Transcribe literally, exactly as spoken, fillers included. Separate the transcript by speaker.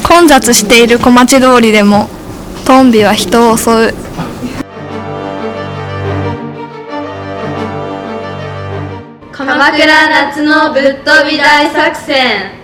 Speaker 1: 混雑している小町通りでもトンビは人を襲う。
Speaker 2: 鎌倉夏のぶっ飛び大作戦。